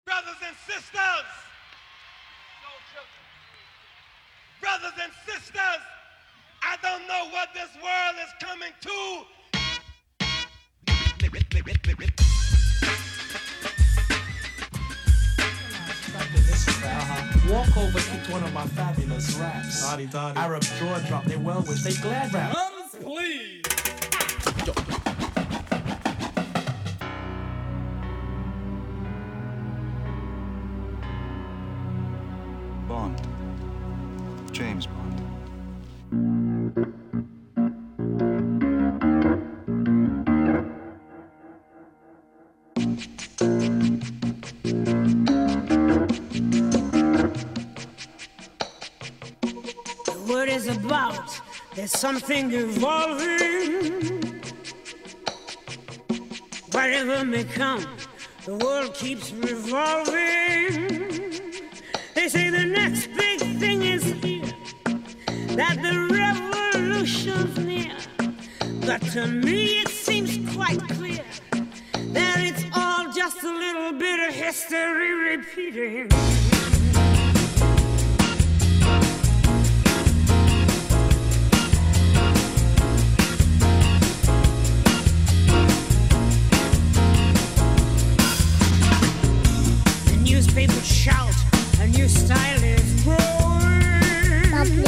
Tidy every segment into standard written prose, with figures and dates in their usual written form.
Brothers and sisters, brothers and sisters, I don't know what this world is coming to. Walkover kicked one of my fabulous raps. Arab jaw drop, they well wish they glad rap. Please. Bond. James Bond. The word is about, there's something evolving. Whatever may come, the world keeps revolving. They say the next big thing is here, that the revolution's near. But to me it seems quite clear that it's all just a little bit of history repeating. The newspapers shout, a new style is growing,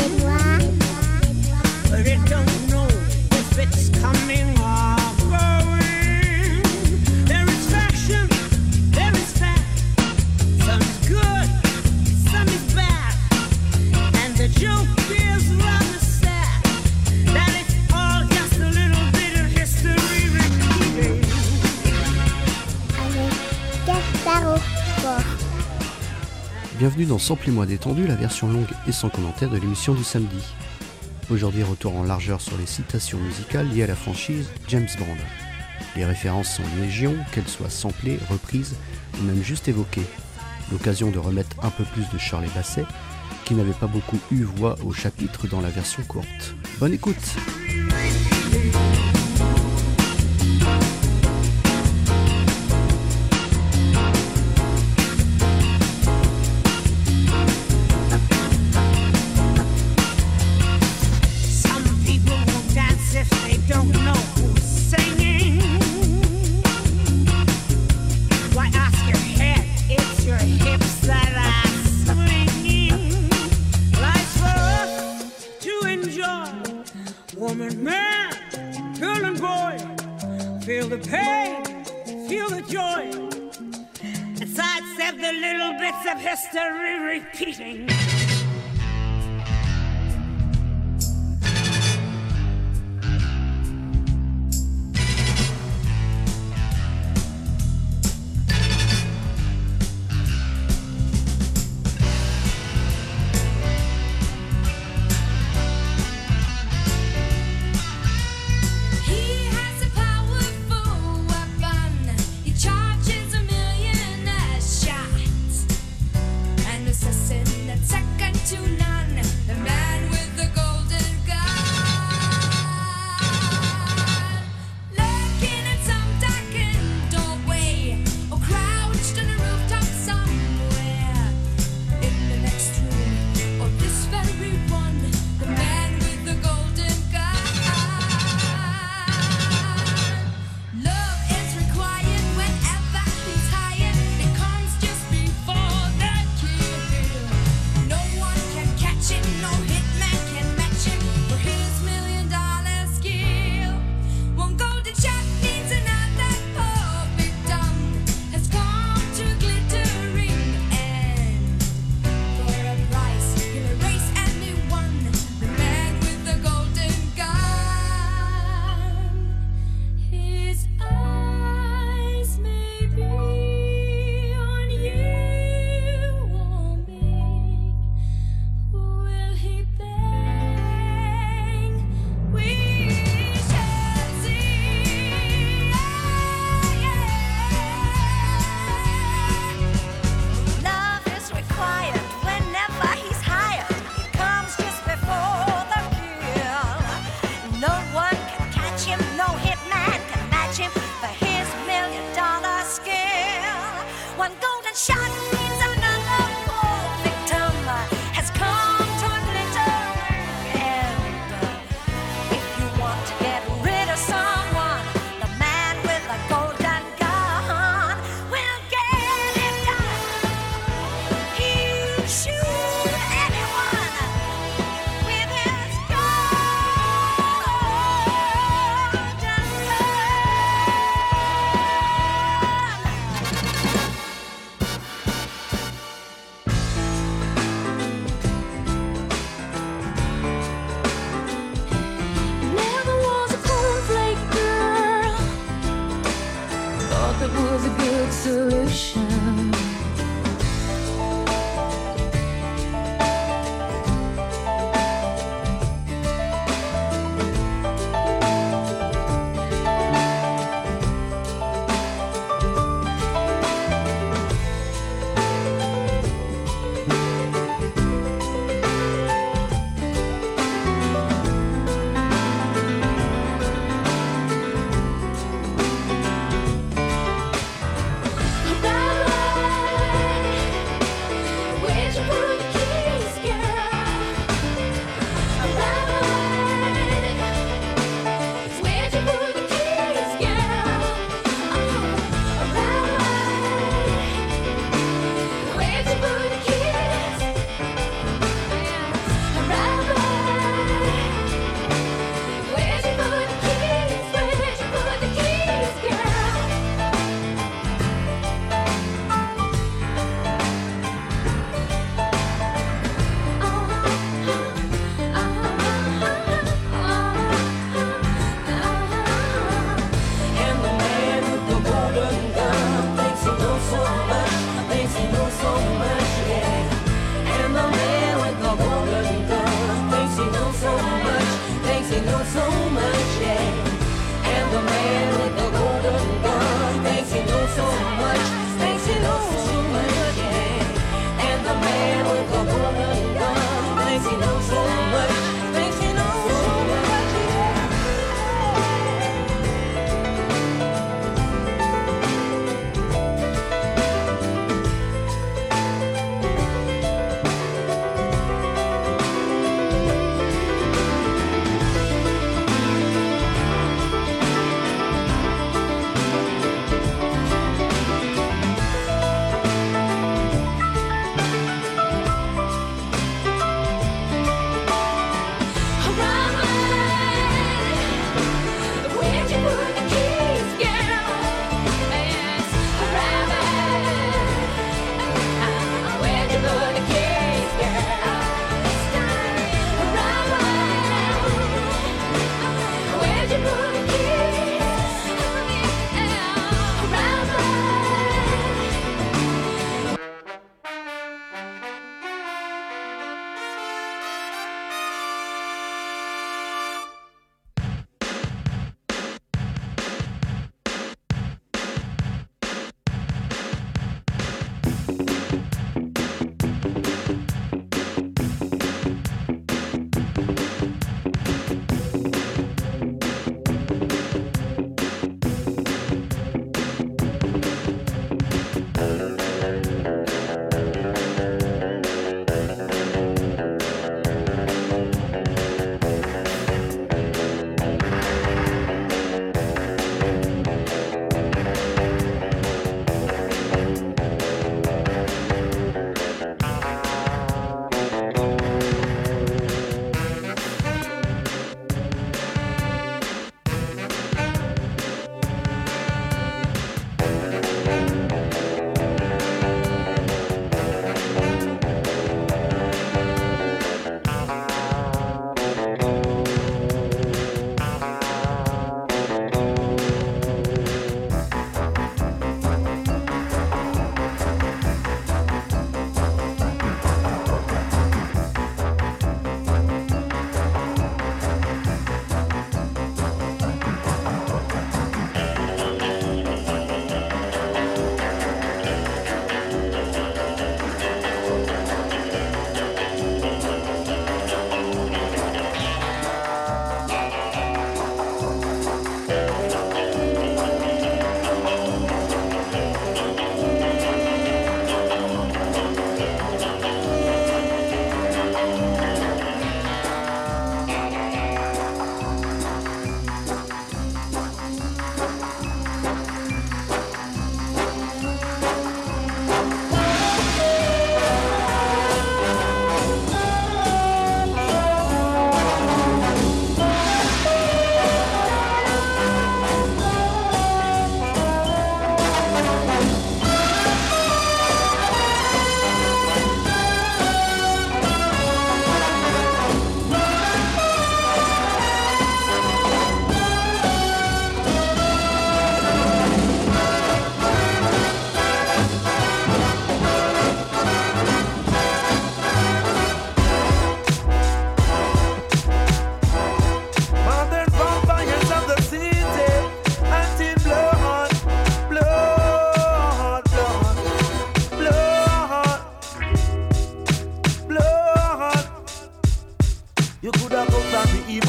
but it don't know if it's coming or going. There is fashion, there is fact. Some is good, some is bad, and the joke is rather sad that it's all just a little bit of history repeating. Bienvenue dans Sample-moi détendu, la version longue et sans commentaire de l'émission du samedi. Aujourd'hui, retour en largeur sur les citations musicales liées à la franchise James Bond. Les références sont légion, qu'elles soient samplées, reprises ou même juste évoquées. L'occasion de remettre un peu plus de Shirley Bassey, qui n'avait pas beaucoup eu voix au chapitre dans la version courte. Bonne écoute! Some people won't dance if they don't know who's singing. Why ask your head? It's your hips that are swinging. Life's for us to enjoy. Woman, man, girl and boy, feel the pain, feel the joy, and sidestep the little bits of history repeating. He has a powerful weapon. He charges a million shots, an assassin that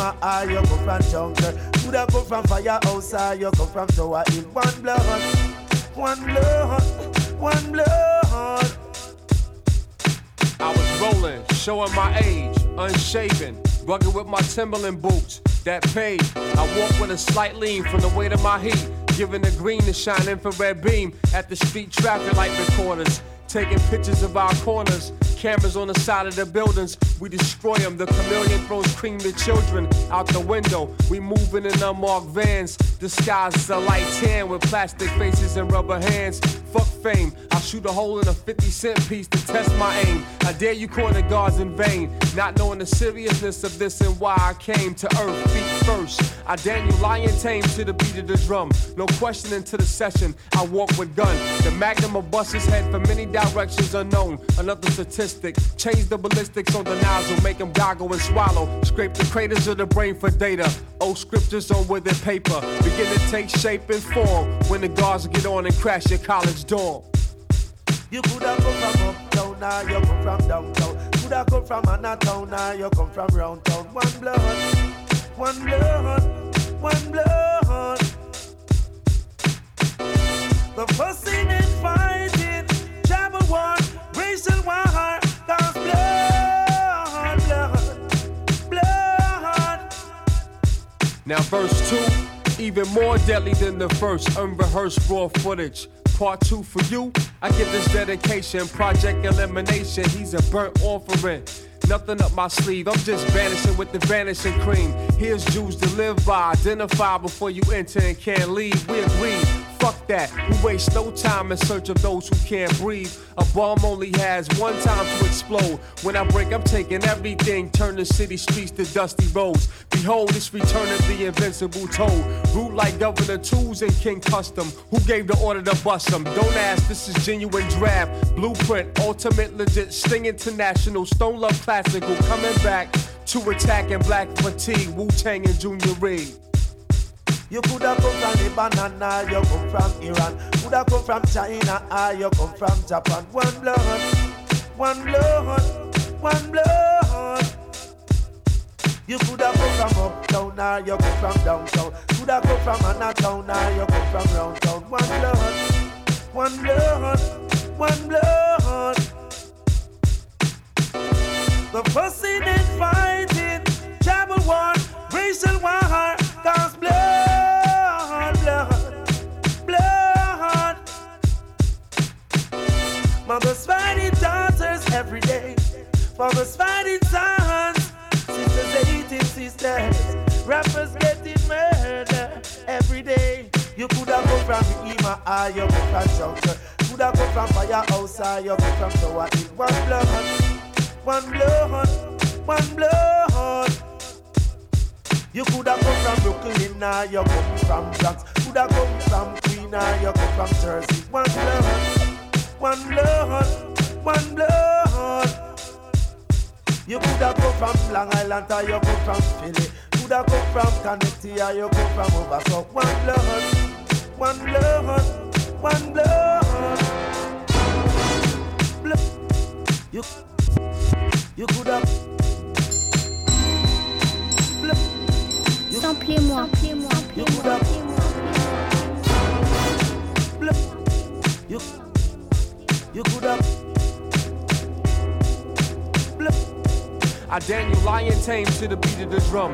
Rima, you come from jungle. Coulda come from firehouse, you come from Tower Hill. One blood, one blood, one blood. I was rolling, showing my age, unshaven, rugged with my Timberland boots that paid. I walk with a slight lean from the weight of my heat, giving the green to shine infrared beam at the street traffic light recorders, taking pictures of our corners. Cameras on the side of the buildings, we destroy them. The chameleon throws cream to children out the window. We moving in unmarked vans, disguised as a light tan with plastic faces and rubber hands. Fuck fame, I'll shoot a hole in a 50-cent piece to test my aim. I dare you corner guards in vain, not knowing the seriousness of this and why I came to earth feet first. I Daniel Lion tame to the beat of the drum. No questioning to the session, I walk with gun. The magnum of buses head for many directions unknown. Another statistic, change the ballistics on the nozzle, make them goggle and swallow. Scrape the craters of the brain for data. Old scriptures on withered paper begin to take shape and form when the guards get on and crash your college dorm. You coulda come from uptown, now you come from downtown. Coulda come from Anatown, now you come from round town. One blood, one blood, one blood. The fussing and fighting, tribal war, racial war, cause blood, blood, blood. Now verse 2, even more deadly than the first, unrehearsed raw footage. Part 2 for you, I give this dedication, Project Elimination, he's a burnt offering. Nothing up my sleeve, I'm just vanishing with the vanishing cream. Here's Jews to live by, identify before you enter and can't leave. We agree, fuck that, we waste no time in search of those who can't breathe. A bomb only has one time to explode. When I break, I'm taking everything, turn the city streets to dusty roads. Behold, it's return of the invincible toad. Root like Governor Tools and King Custom. Who gave the order to bust them? Don't ask, this is genuine draft. Blueprint, ultimate legit, Sting International, Stone Love Classical, coming back to attack in black fatigue, Wu-Tang and Junior Reed. You coulda come from Lebanon, you come from Iran. Coulda come from China, you come from Japan. One blood, one blood, one blood. You coulda come from uptown, you come from downtown. Coulda come from Anatown, you come from round town. One blood, one blood, one blood. The fussing and fighting, tribal war, racial war, cause blood, blood, blood. Mothers fighting daughters every day, fathers fighting sons, sisters hating sisters, rappers getting murdered every day. You coulda come from Ima, you come from Jungle. Coulda come from Firehouse, you come from Tower Hill. One blood, one blood, one blood. You coulda come from Brooklyn, now you come from Bronx. Coulda come from Queen, now you come from Jersey. One blood, one blood, one blood. You coulda come from Long Island, or you come from Philly. Coulda come from Connecticut, or you come from over. So one blood, one blood, one blood. Blood. You coulda. Samplez-moi. You coulda. You coulda. I Daniel Lion tame to the beat of the drum.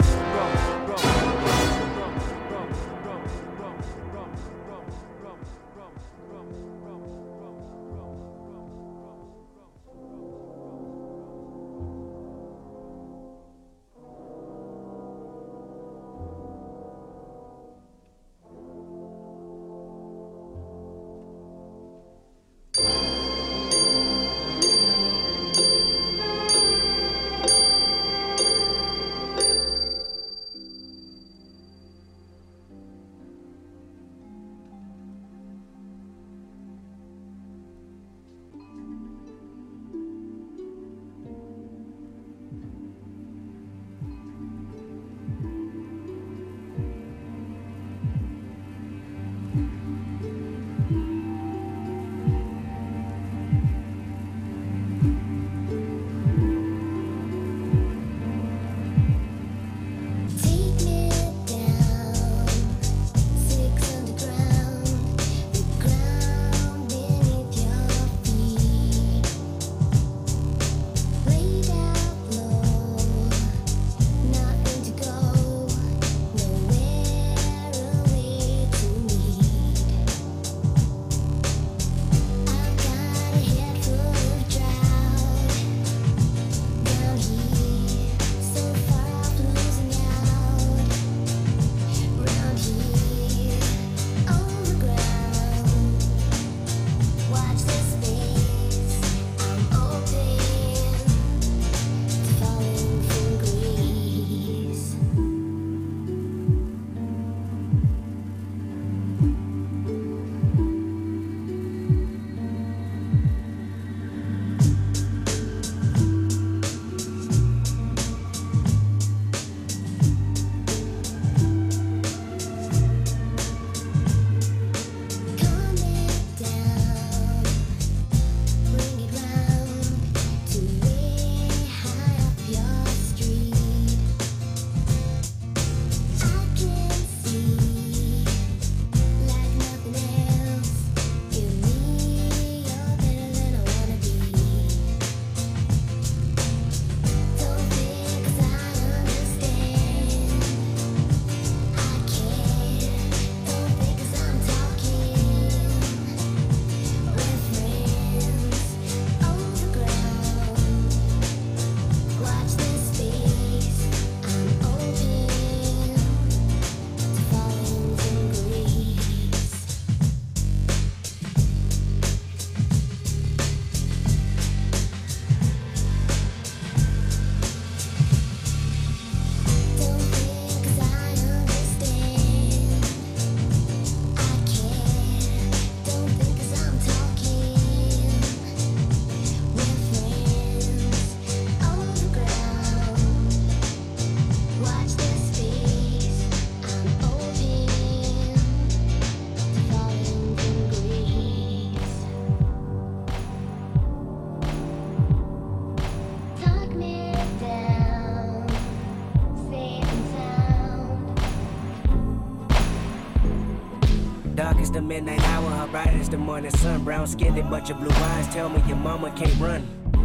midnight hour, her bright as the morning sun. Brown skinned, but your blue eyes tell me your mama can't run.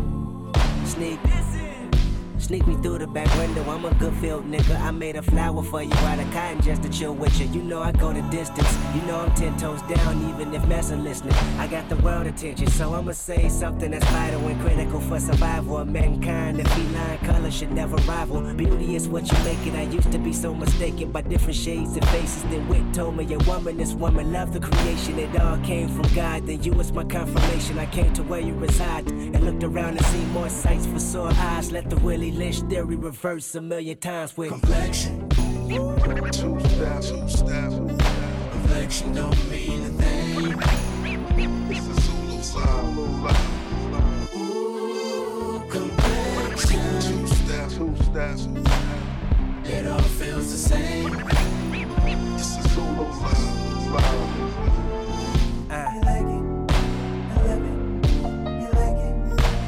Sneak me through the back window, I'm a good field nigga. I made a flower for you out of cotton just to chill with you. You know I go the distance, you know I'm 10 toes down even if messing listening. I got the world attention, so I'ma say something that's vital and critical for survival of mankind. The feline color should never rival. Beauty is what you make it. I used to be so mistaken by different shades and faces. Then Wit told me a woman, this woman loved the creation. It all came from God, then you was my confirmation. I came to where you reside and looked around and seen more sights for sore eyes. Let the Willie Lynch theory reverse a million times with complexion. Two step. Complexion don't mean a thing. It's a Zulu song. Ooh, complexion. Two step. It all feels the same. It's a Zulu song. You like it? I love it. You like it?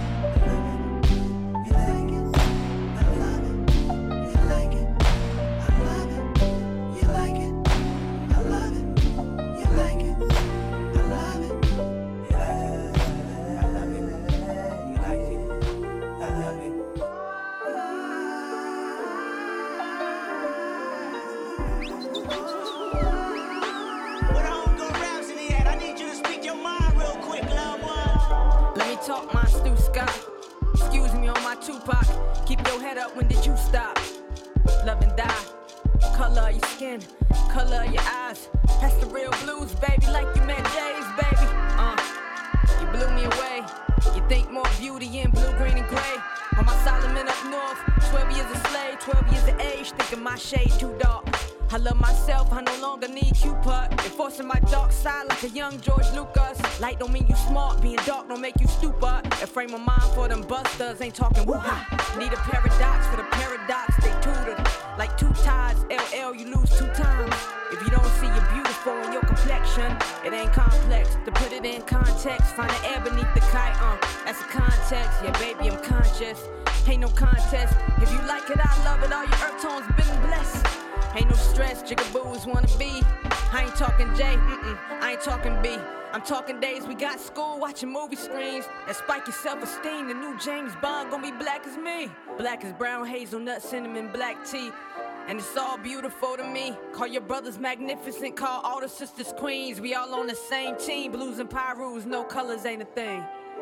Talk my Stu Scott. Excuse me on my Tupac. Keep your head up, when did you stop? Love and die. Color of your skin, color of your eyes. That's the real blues, baby, like you met Jay's, baby. You blew me away. You think more beauty in blue, green, and gray. On my Solomon up north, 12 years a slave, 12 years of age, thinking my shade too dark. I love myself, I no longer need Cupid. Enforcing my dark side like a young George Lucas. Light don't mean you smart, being dark don't make you stupid. A frame of mind for them busters, ain't talking woo-ha. Need a paradox for the paradox, they tutored. Like two tides, LL, you lose 2 times. If you don't see you're beautiful in your complexion, it ain't complex. To put it in context, find the air beneath the kite, that's a context. Yeah, baby, I'm conscious. Ain't no contest. If you like it, I love it. All your earth tones been blessed. Ain't no stress, jigaboos wanna be. I ain't talking J, I ain't talking B. I'm talking days we got school, watching movie screens. That spike your self-esteem, the new James Bond gon' be black as me. Black as brown, hazelnut, cinnamon, black tea. And it's all beautiful to me. Call your brothers magnificent, call all the sisters queens. We all on the same team, blues and pyrus, no colors ain't a thing.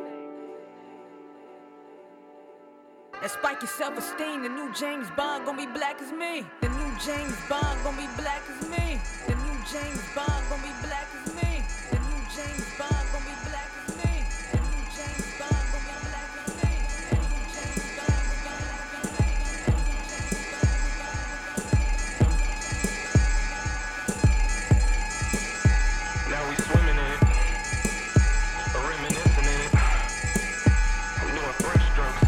That spike your self-esteem, the new James Bond gon' be black as me. The new James Bond gon' be black as me. The new James Bond gon' be black as me. The new James Bond gon' be black as me. The new James Bond gon' be black as me. The new James Bond gon' be black as me. Now we swimming in it, reminiscing in it. I'm doing fresh strokes.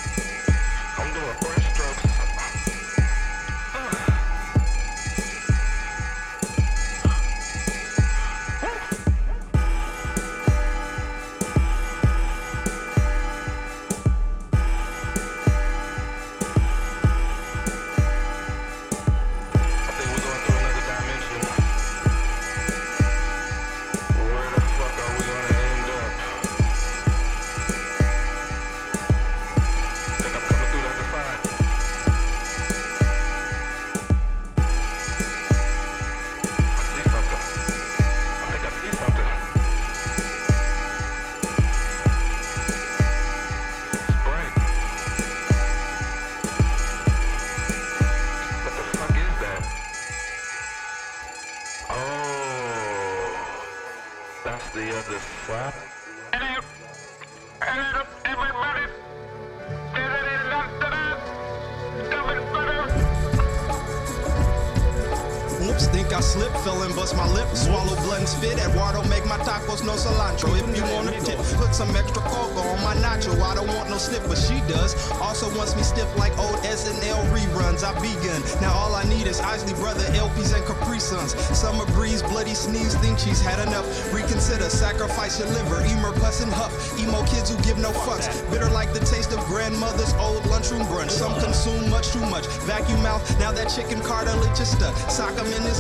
Think I slipped, fell and bust my lip, swallow blood and spit. Eduardo make my tacos no cilantro. If you want a tip, put some extra cocoa on my nacho. I don't want no snip, but she does. Also wants me stiff like old SNL reruns. I begun. Now all I need is Isley Brother, LPs and Capri Suns. Summer breeze, bloody sneeze, think she's had enough. Reconsider, sacrifice your liver. Emer, puss and huff. Emo kids who give no fucks. Bitter like the taste of grandmother's old lunchroom brunch. Some consume much too much. Vacuum mouth, now that chicken cartilage is stuck. Sock 'em in his gut like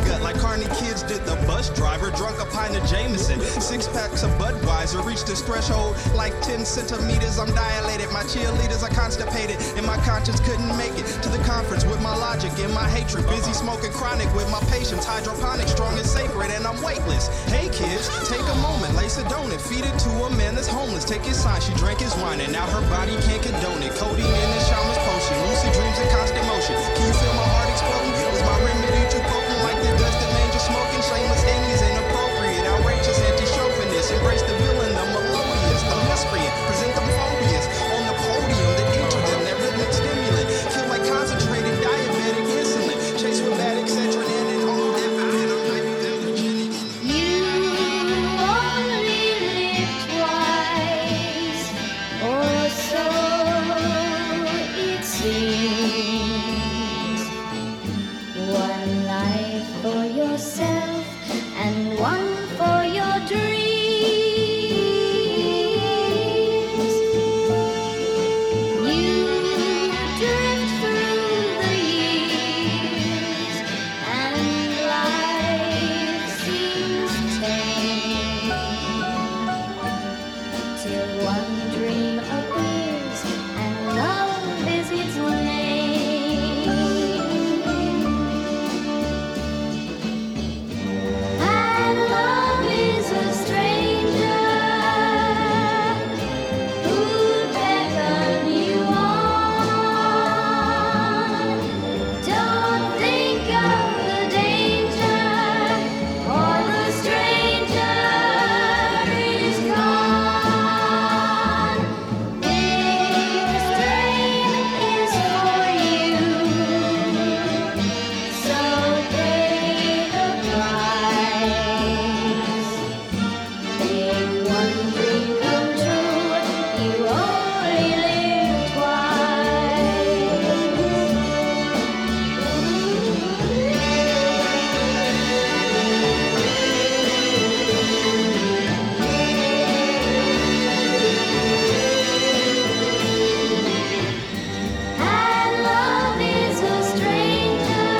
Barney kids did the bus driver, drunk a pint of Jameson. 6 packs of Budweiser, reached this threshold like 10 centimeters. I'm dilated, my cheerleaders are constipated, and my conscience couldn't make it to the conference with my logic and my hatred. Busy smoking chronic with my patience, hydroponic, strong and sacred, and I'm weightless. Hey kids, take a moment, lace a donut, feed it to a man that's homeless. Take his sign, she drank his wine, and now her body can't condone it. Codeine in the shaman's potion, lucid dreams and constant motion. Can you feel my heart exploding? Is my remedy too potent like the dust of angel smoking? Shameless Amy's inappropriate, outrageous, anti-chauvinist. Embrace the villain, the melodious, the miscreant. Present the phobias on the podium that enter them, that rhythmic stimulant. Kill like concentrated diabetic insulin. Chase rheumatic Centrin and all that. You only live twice, or so it seems. One life for yourself and one for your dreams. You drift through the years and life seems tame till one dream appears and love is its name. And love is a stranger who'd beckon you on. Don't think of the danger, for the stranger is gone. This dream is for you, so pay the price. Make one dream come true, you only live And love is a stranger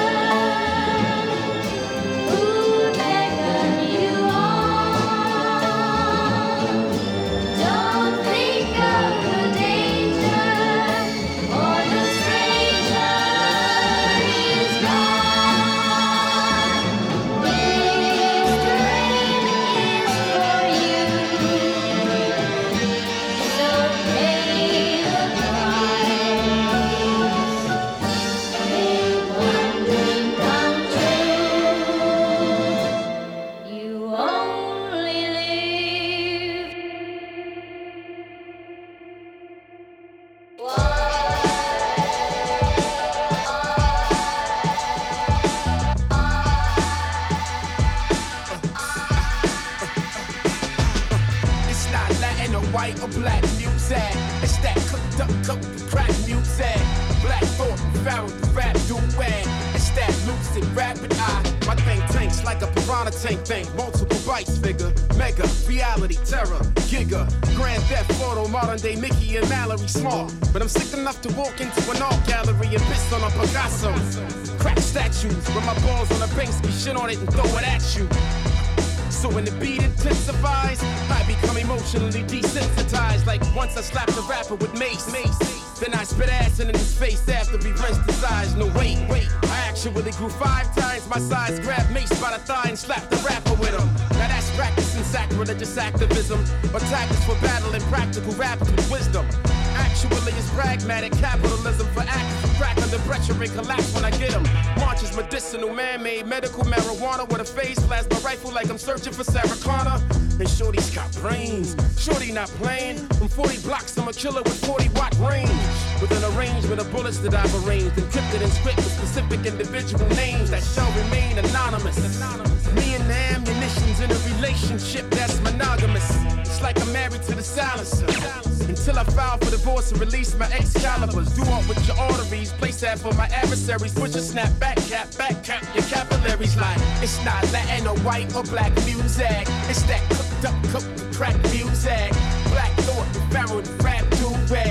who'd beckon you on. Don't think of the danger, for the stranger is gone. This dream is for you, so pay the price. Make one dream come true, you only live It's not Latin or white or black music. It's that cooked up, coke and crack music. Black thought, found the rap duet. It's that lucid rapid eye. My thing tanks like a piranha tank thing. Multiple bites figure. Mega, reality, terror, giga. Grand Theft Auto, modern day Mickey and Mallory smart. But I'm sick enough to walk into an art gallery and piss on a Picasso. Crack statues, with my balls on a Banksy, shit on it and throw it at you. So when the beat intensifies, I become emotionally desensitized. Like once I slapped a rapper with mace. Then I spit acid in his face after he rinsed his eyes. No, wait. I actually grew 5 times my size. Grabbed Mace by the thigh and slapped the rapper with him. Now that's practicing sacrilegious activism. Or tactics for battling practical rappers with wisdom. Actually, it's pragmatic capitalism for actors who crack under pressure and collapse when I get them. Marches medicinal, man-made, medical marijuana with a phase plasma rifle like I'm searching for Sarah Connor. And Shorty's got brains. Shorty not playing. From 40 blocks, I'm a killer with 40-watt range. With an arrangement of bullets that I've arranged, encrypted in script with specific individual names that shall remain anonymous. Me and the ammunition's in a relationship that's monogamous. It's like I'm married to the silencer. Until I file for divorce and release my Excaliburs. Do up with your arteries, place that for my adversaries. Push a snap, back cap, your capillaries like it's not Latin or white or black music. It's that cooked up, crack music. Black thought, the barrel, the rap duet. It's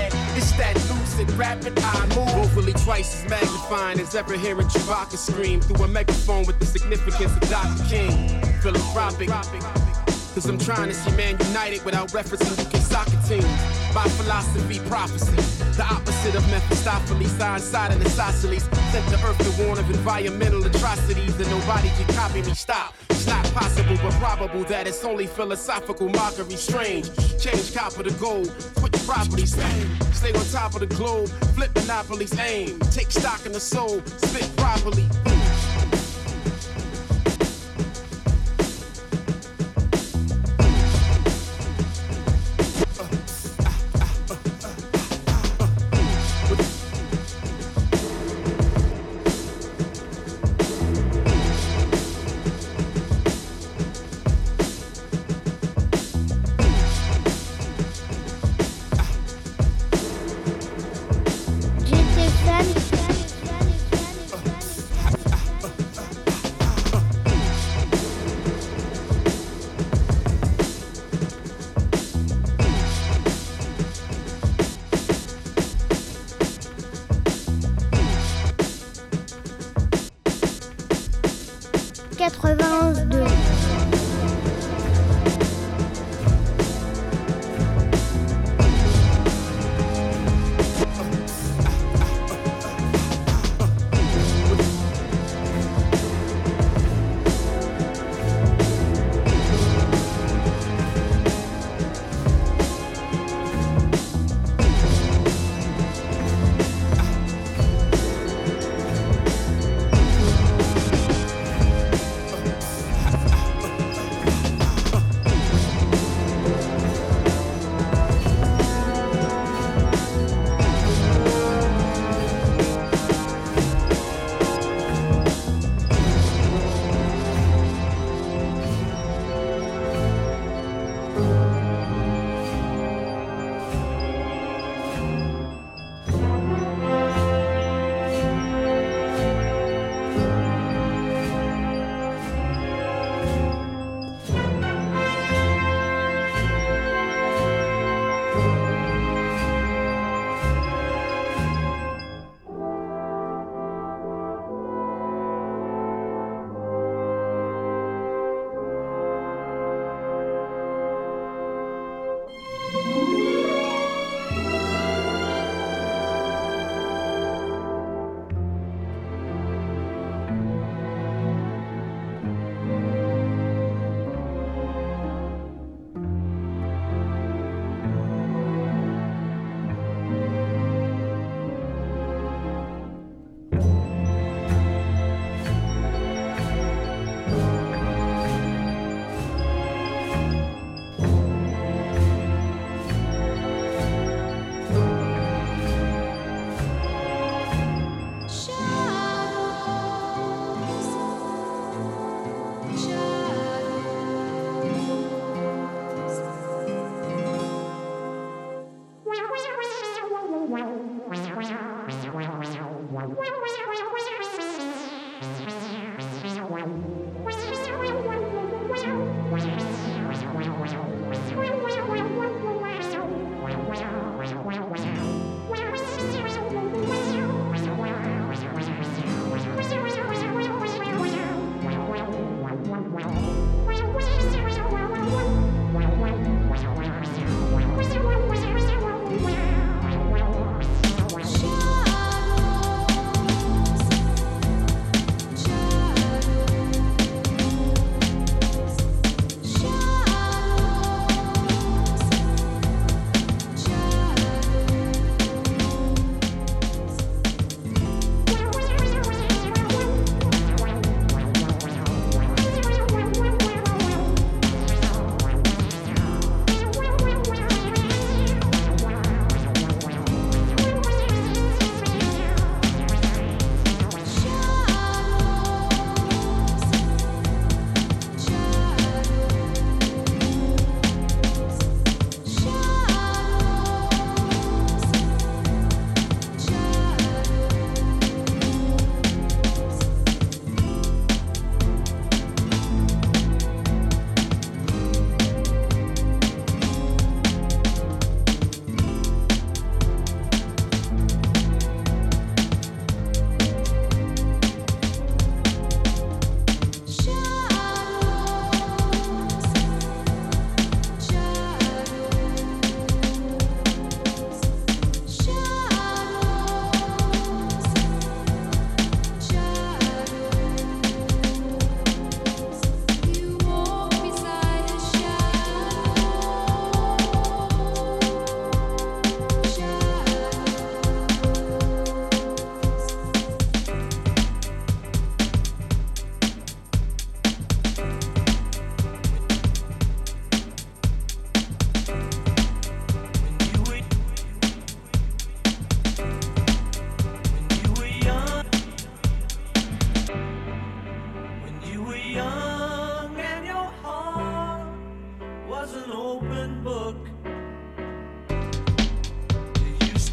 It's that lucid, rapid eye move. Vocally twice as magnifying as ever hearing Chewbacca scream through a megaphone with the significance of Dr. King. Philanthropic. Cause I'm trying to see man united without referencing UK soccer teams. My philosophy, prophecy, the opposite of Mephistopheles, side and isosceles. Sent to earth to warn of environmental atrocities that nobody can copy me. Stop. It's not possible, but probable that it's only philosophical mockery. Strange. Change copper to gold. Switch properties. Stay on top of the globe. Flip monopolies. Aim. Take stock in the soul. Spit properly.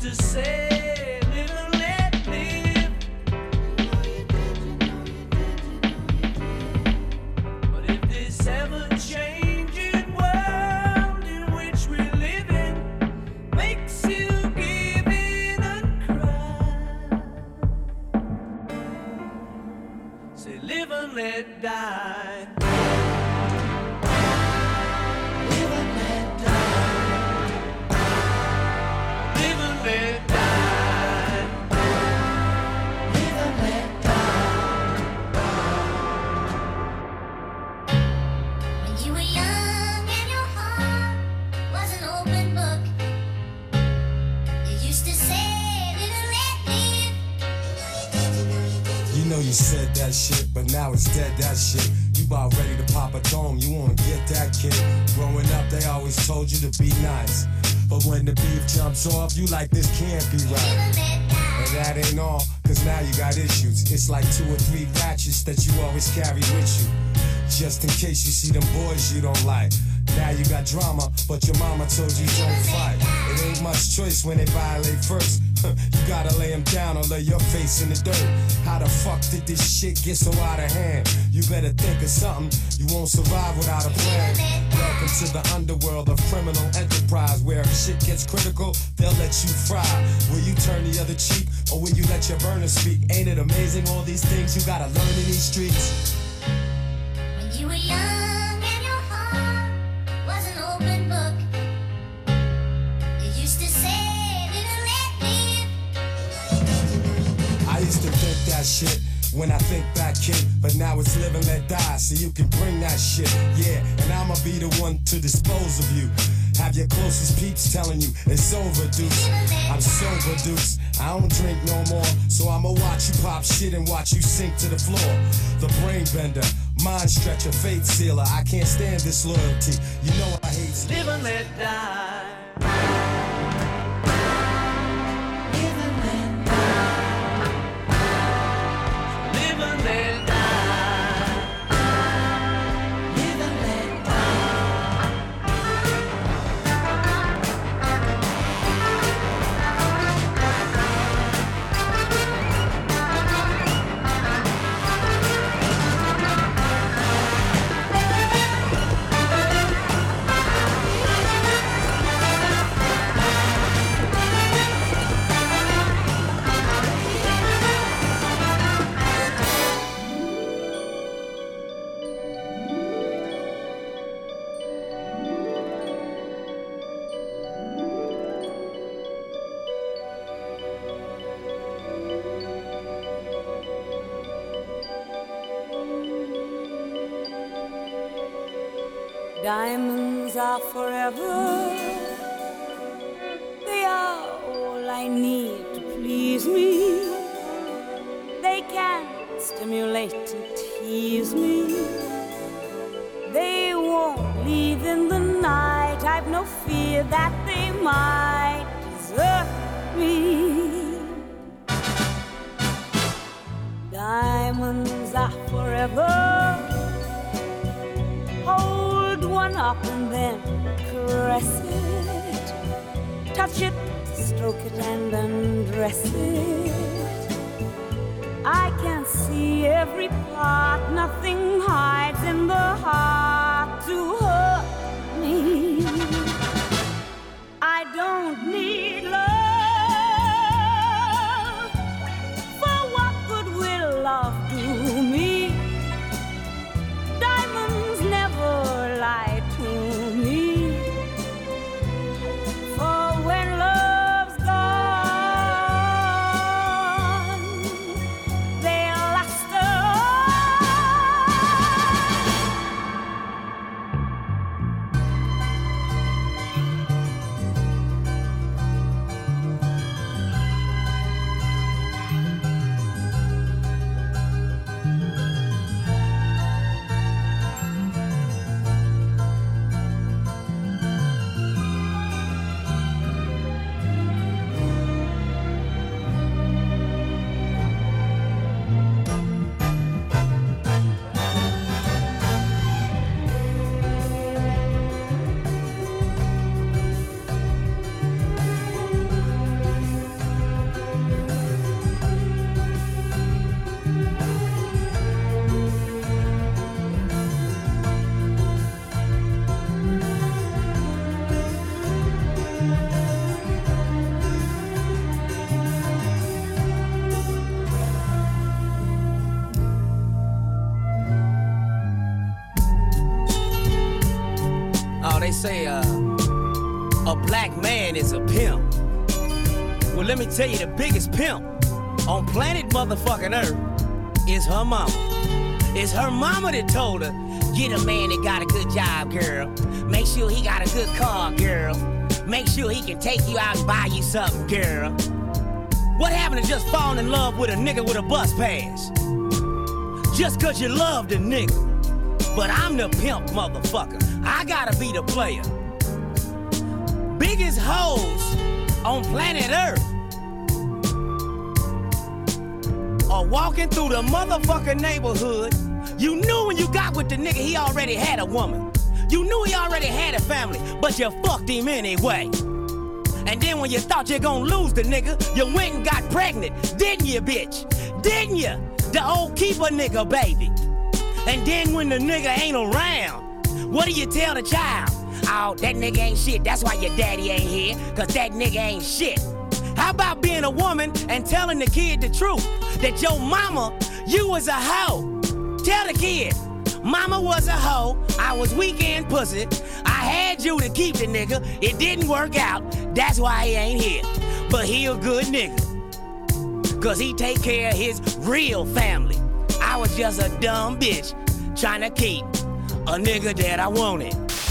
to say, live and let live. But if this ever-changing world in which we live in makes you give in and cry, say, live and let die. Live and let die. Live and let die. Live and let die. When you were young and your heart was an open book, you used to say, live and let live. You know you said that shit, but now it's dead, that shit. You about ready to pop a dome, you wanna get that kid. Growing up, they always told you to be nice. But when the beef jumps off, you like, this can't be right. And that ain't all, cause now you got issues. It's like 2 or 3 ratchets that you always carry with you, just in case you see them boys you don't like. Now you got drama, but your mama told you don't fight. It ain't much choice when they violate first. You gotta lay them down or lay your face in the dirt. How the fuck did this shit get so out of hand? You better think of something, you won't survive without a plan. Welcome to the underworld of criminal enterprise, where if shit gets critical, they'll let you fry. Will you turn the other cheek, or will you let your burner speak? Ain't it amazing all these things you gotta learn in these streets? When you were young and your heart was an open book, you used to say, live and let live. I used to think that shit when I think back, kid, but now it's live and let die, so you can bring that shit, yeah, and I'ma be the one to dispose of you. Have your closest peeps telling you it's over, deuce. I'm sober, deuce. I don't drink no more, so I'ma watch you pop shit and watch you sink to the floor. The brain bender, mind stretcher, fate sealer. I can't stand this loyalty. You know I hate Live and let die. Live and let die. Live and let die. Live and let Diamonds are forever. They are all I need to please me. They can stimulate and tease me. They won't leave in the night. I've no fear that they might desert me. Diamonds are forever. Hold one up and then caress it. Touch it, stroke it and undress it. I can see every part. Nothing hides in the heart to hurt me. I don't need love. For what good will love do me? Diamonds never lie to me. For when love's gone, they'll last on. they say a black man is a pimp. Well, let me tell you, the biggest pimp on planet motherfucking Earth is her mama. It's her mama that told her, get a man that got a good job, girl. Make sure he got a good car, girl. Make sure he can take you out and buy you something, girl. What happened to just falling in love with a nigga with a bus pass? Just cause you love the nigga. But I'm the pimp, motherfucker. I gotta be the player. Biggest hoes on planet Earth are walking through the motherfucking neighborhood. You knew when you got with the nigga he already had a woman. You knew he already had a family, but you fucked him anyway. And then when you thought you gonna lose the nigga, you went and got pregnant. Didn't you, bitch? Didn't you? The old keeper nigga, baby. And then when the nigga ain't around, what do you tell the child? Oh, that nigga ain't shit. That's why your daddy ain't here, cause that nigga ain't shit. How about being a woman and telling the kid the truth? That your mama, you was a hoe. Tell the kid, mama was a hoe, I was weekend pussy. I had you to keep the nigga, it didn't work out. That's why he ain't here. But he a good nigga, cause he take care of his real family. I was just a dumb bitch trying to keep a nigga that I wanted.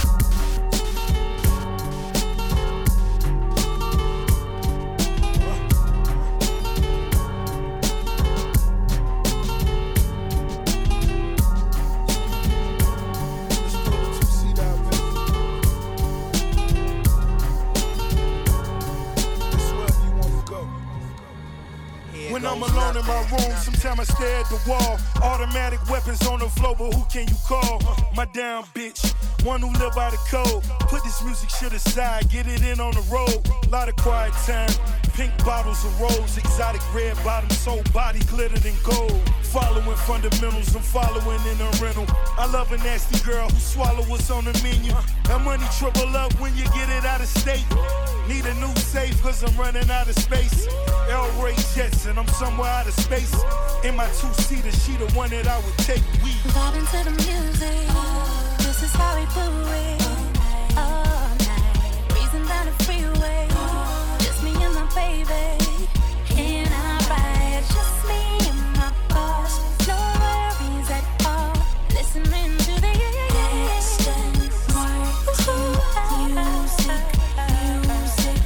When I'm alone in my room, sometimes I stare at the wall. Automatic weapons on the floor, but who can you call? My damn bitch, one who live by the code. Put this music shit aside, get it in on the road. Lot of quiet time, pink bottles of rose, exotic red bottoms, soul body glittered in gold. Following fundamentals, I'm following in a rental. I love a nasty girl who swallow what's on the menu. That money triple up when you get it out of state. Need a new safe cause I'm running out of space. El Ray Jetson, I'm somewhere out of space. In my two-seater, she the one that I would take. We vibing to the music. This is how we do it. All night, breezing down the freeway. Just me and my baby. In our ride, just me and my boss. No worries at all. Listening to the music.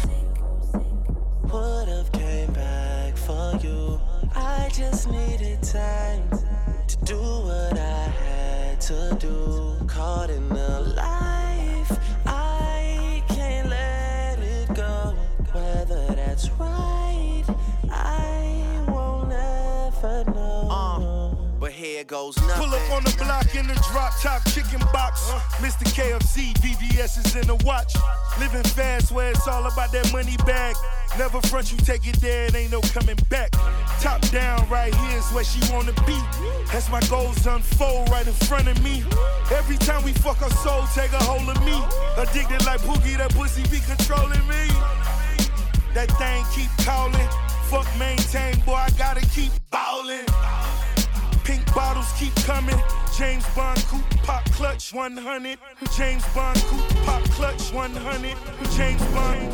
Would've came back for you. I just needed time to do what I had to do. Caught in the life, I can't let it go. Whether that's right, I won't ever know. But here goes nothing. Pull up on the block in the drop top chicken box. Mr. KFC, VVS is in the watch. Living fast where it's all about that money bag. Never front, you take it there, it ain't no coming back. Top down, right here is where she wanna be. As my goals unfold right in front of me. Every time we fuck, her soul take a hold of me. Addicted like Pookie, that pussy be controlling me. That thing keep calling. Fuck maintain, boy, I gotta keep ballin'. Pink bottles keep coming. James Bond coupe pop clutch 100. James Bond coupe pop clutch 100. James Bond.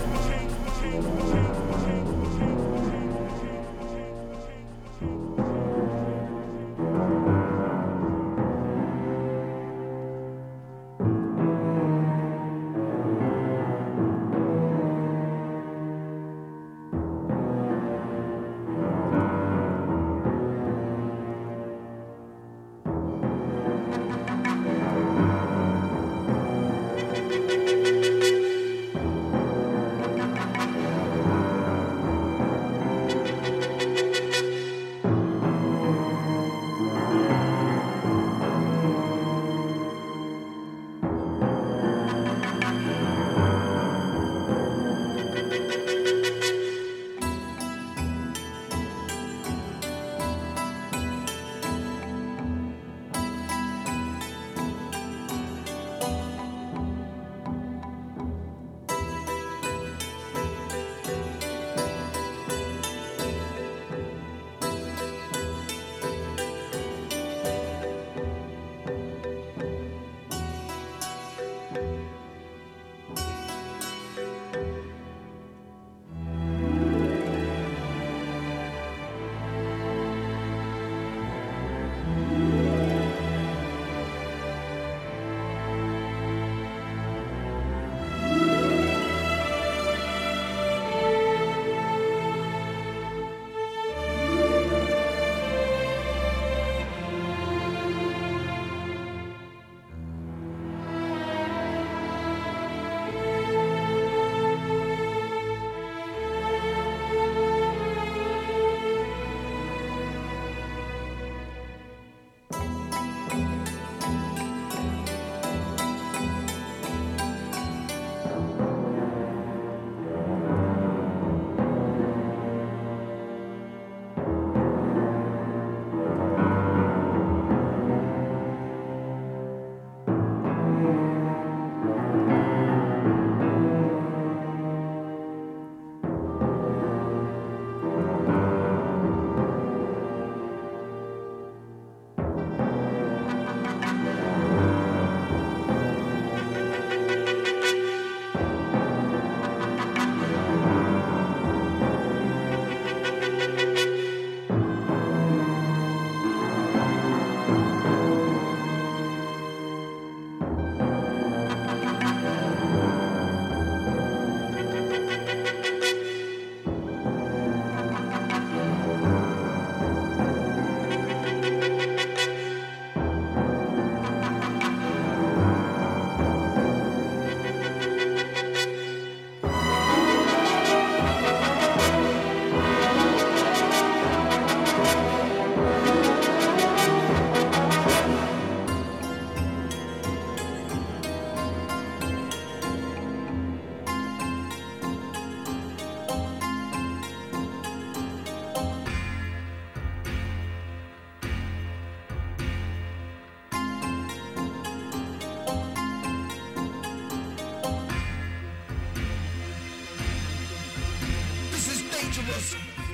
dangerous.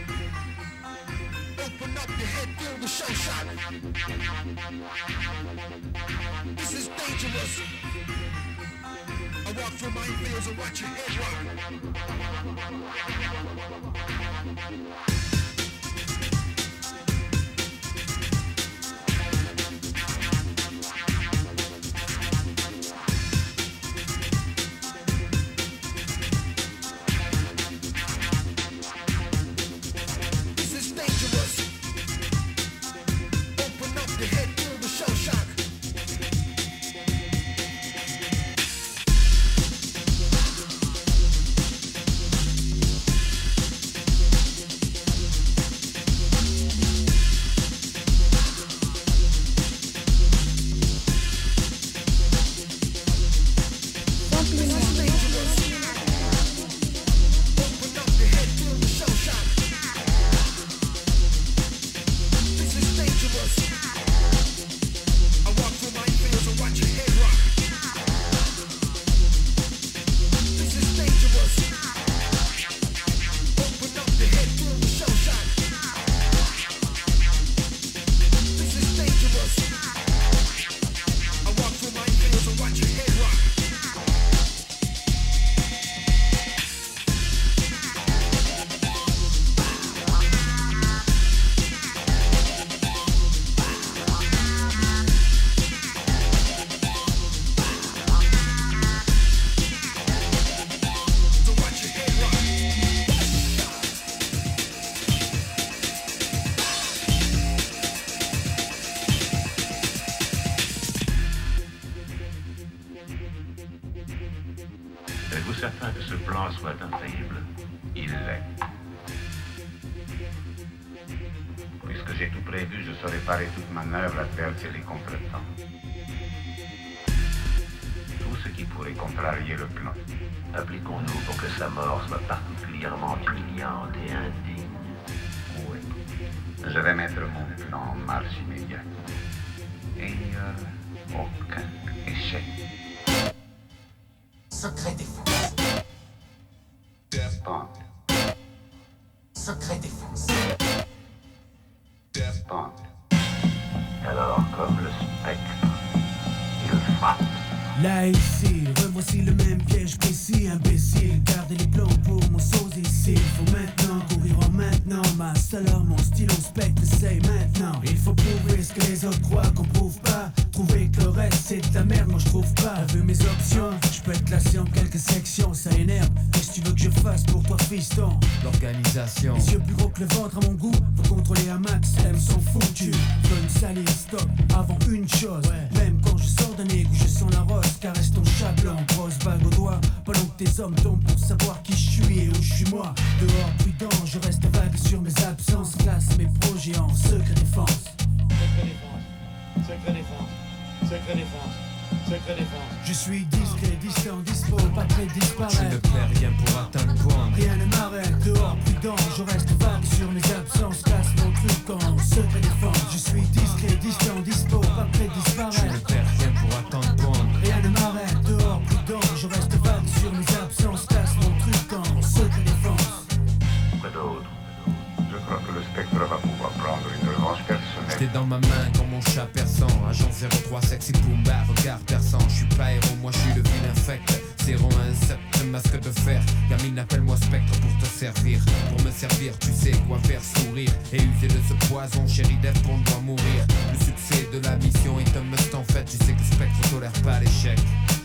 Open up your head, feel the shell shock. This is dangerous. I walk through minefields and watch your head rock. Êtes-vous certain que ce plan soit infaillible? Il l'est. Puisque j'ai tout prévu, je saurai parer toute manœuvre, adverser les contretemps. Tout ce qui pourrait contrarier le plan. Appliquons-nous pour que sa mort soit particulièrement humiliante et indigne. Oui. Je vais mettre mon plan en marche immédiate. Et il n'y a aucun échec. Secret défense. Bond. Secret défense. Bond. Alors, comme le spectre, il frappe. Là ici, revoici le même piège précis, imbécile. Gardez les plans pour mon sosie ici. Faut maintenant courir en maintenant. Ma seule arme, mon stylo spectre, c'est maintenant. Il faut prouver ce que les autres croient qu'on prouve pas. Trouver que le reste c'est de la merde, moi je trouve pas. T'as vu mes options? Je peux être classé en quelques sections, ça énerve. Qu'est-ce que tu veux que je fasse pour toi, fiston? L'organisation. Les yeux plus gros que le ventre à mon goût. Faut contrôler un max, elles sont foutues. Veux me salir, stop, avant une chose. Même quand je sors d'un égout, je sens la rose. Caresse ton chat blanc, grosse bague au doigt. Pendant que tes hommes tombent pour savoir qui je suis et où je suis moi. Dehors prudent, je reste vague sur mes absences. Classe mes projets en secret défense. Secret défense, secret défense, secret défense, secret défense. Je suis discret, distant, dispo, pas prêt de disparaître. Je ne perds rien pour atteindre Bond. Rien ne m'arrête, dehors prudent, je reste vague sur mes absences. Classe mon truc en secret défense. Je suis discret, distant, dispo, pas prêt de disparaître. Je ne perds rien pour atteindre Bond. Rien ne m'arrête, dehors prudent, je reste vague sur mes absences. Classe mon truc en secret défense. Quoi d'autre? Je crois que le spectre va pouvoir prendre une revanche personnelle. T'es dans ma main comme mon chat perçant. Agent 03, sexy Pumba, regard perçant. Je suis pas héros, moi je suis le vilain infect. 017, masque de fer. Gamine, appelle-moi spectre pour te servir. Pour me servir, tu sais quoi faire sourire. Et user de ce poison, chérie Def, on doit mourir. Le succès de la mission est un must en fait. Tu sais que spectre tolère pas l'échec.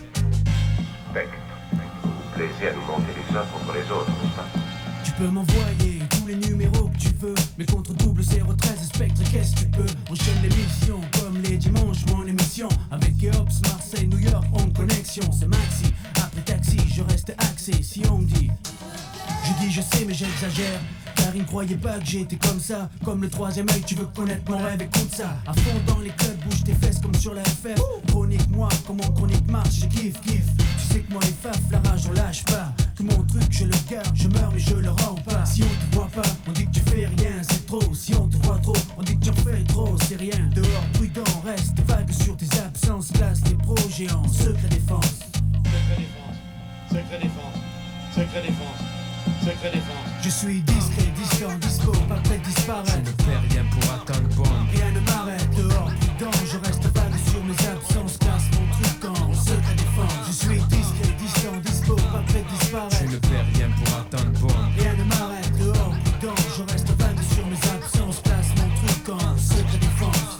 Spectre, plaisir à nous monter les uns contre les autres, n'est-ce pas? Tu peux m'envoyer tous les numéros que tu veux. Mais contre double 013 spectre, qu'est-ce que tu peux? Enchaîne les missions comme les dimanches, mon émission. Avec Geops, Marseille, New York, en connexion. C'est maxi, après taxi, je reste axé. Si on me dit, je dis je sais mais j'exagère. Car ils ne croyaient pas que j'étais comme ça. Comme le troisième œil, tu veux connaître mon rêve, écoute ça. À fond dans les clubs, bouge tes fesses comme sur la FF. Chronique-moi, comment chronique marche, je kiffe. Tu sais que moi les faf, la rage on lâche pas. Que mon truc je le garde, je meurs mais je le rends pas. Si on te voit pas, on dit que tu fais rien, c'est trop. Si on te voit trop, on dit que tu en fais trop, c'est rien. Dehors prudent, reste vague sur tes absences. Classe tes projets en secret défense. Secret défense, secret défense, secret défense, secret défense. Je suis discret, distant, dispo, pas prêt de disparaître. Je ne fais rien pour atteindre Bond. Rien ne m'arrête, dehors, prudent, je reste vague sur mes absences, casse mon truc en secret défense. Je suis discret, distant, dispo, pas prêt de disparaître. Je ne fais rien pour atteindre Bond. Rien ne m'arrête, dehors, prudent, je reste vague sur mes absences, casse mon truc en secret défense.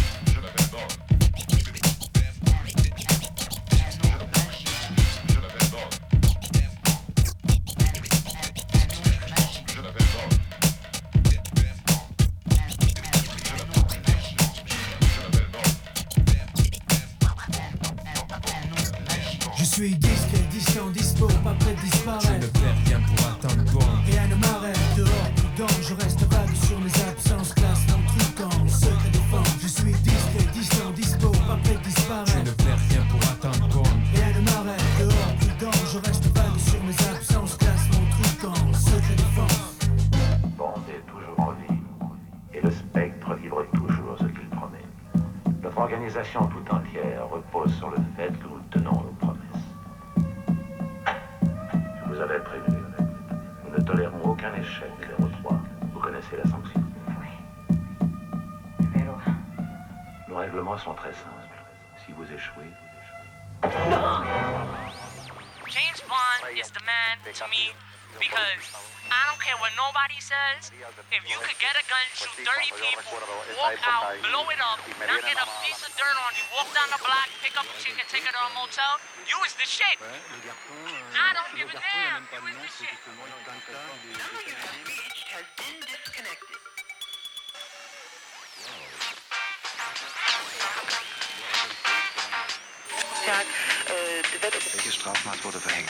Je suis discret, distant, dispo, pas prêt de disparaître. Je ne fais rien pour atteindre Bond. Rien ne m'arrête, dehors, prudent, je reste vague sur mes absences, classe mon truc en secret défense. Je suis discret, distant, dispo, pas prêt de disparaître. Je ne fais rien pour atteindre Bond. Rien ne m'arrête, dehors, prudent, je reste vague sur mes absences, classe mon truc en secret défense. Bond est toujours en vie, et le spectre livre toujours ce qu'il promet. Notre organisation tout entière repose sur le fait que nous tenons nos promesses. Je vous avais prévenu, nous ne tolérons aucun échec, 03. Vous connaissez la sanction? Oui. Numéro 1. Nos règlements sont très simples. Si vous échouez, James Bond is the man to me because I don't care what nobody says. If you could get a gun, shoot 30 people, walk out, blow it up, not get a piece of dirt on you, walk down the block, pick up a chick and take her to a motel, you is the shit. I don't give a damn. You is the shit. Has been disconnected. Tag, Welche Strafmaß wurde verhängt?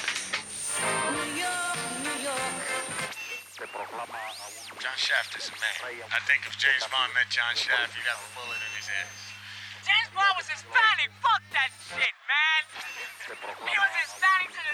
John Shaft is a man. I think if James Bond met John Shaft, he'd have a bullet in his head. James Bond was Hispanic. Fuck that shit, man. He was Hispanic to the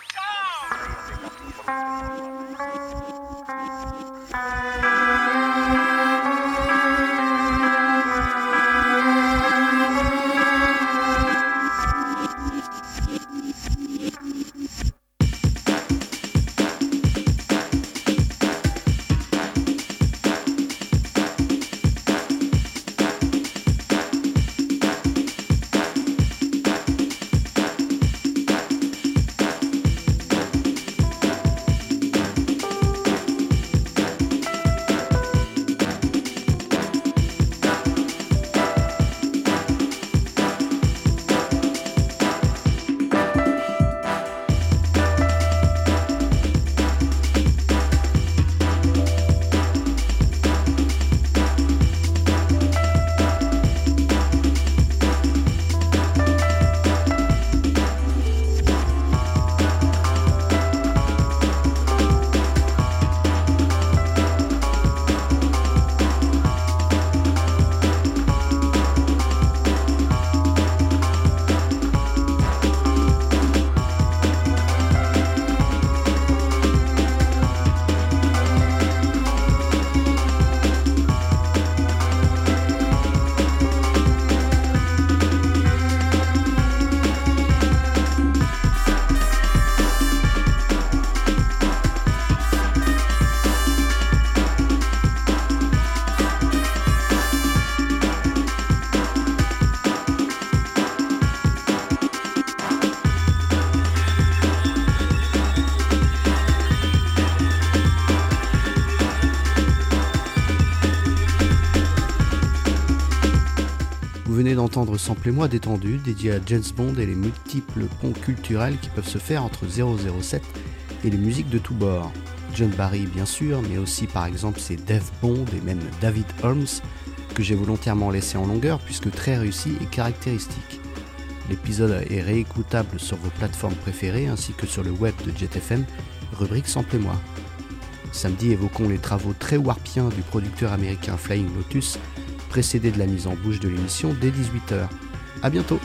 Vous venez d'entendre Samplez-moi détendu, dédié à James Bond et les multiples ponts culturels qui peuvent se faire entre 007 et les musiques de tous bords. John Barry bien sûr, mais aussi par exemple c'est Dave Bond et même David Holmes, que j'ai volontairement laissé en longueur puisque très réussi et caractéristique. L'épisode est réécoutable sur vos plateformes préférées ainsi que sur le web de JetFM, rubrique Samplez-moi. Samedi, évoquons les travaux très warpiens du producteur américain Flying Lotus, précédé de la mise en bouche de l'émission dès 18h. A bientôt!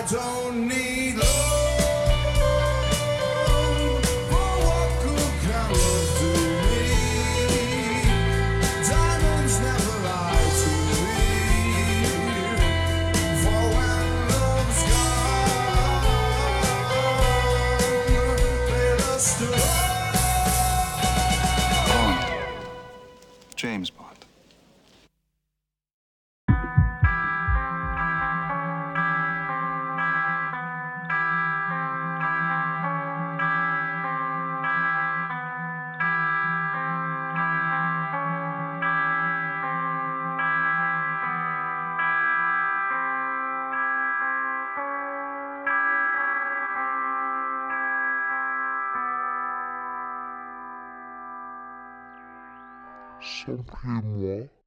don't need love for what could come to me. Diamonds never lie to me. For when love's gone, play the story. James Bond. Samplez-moi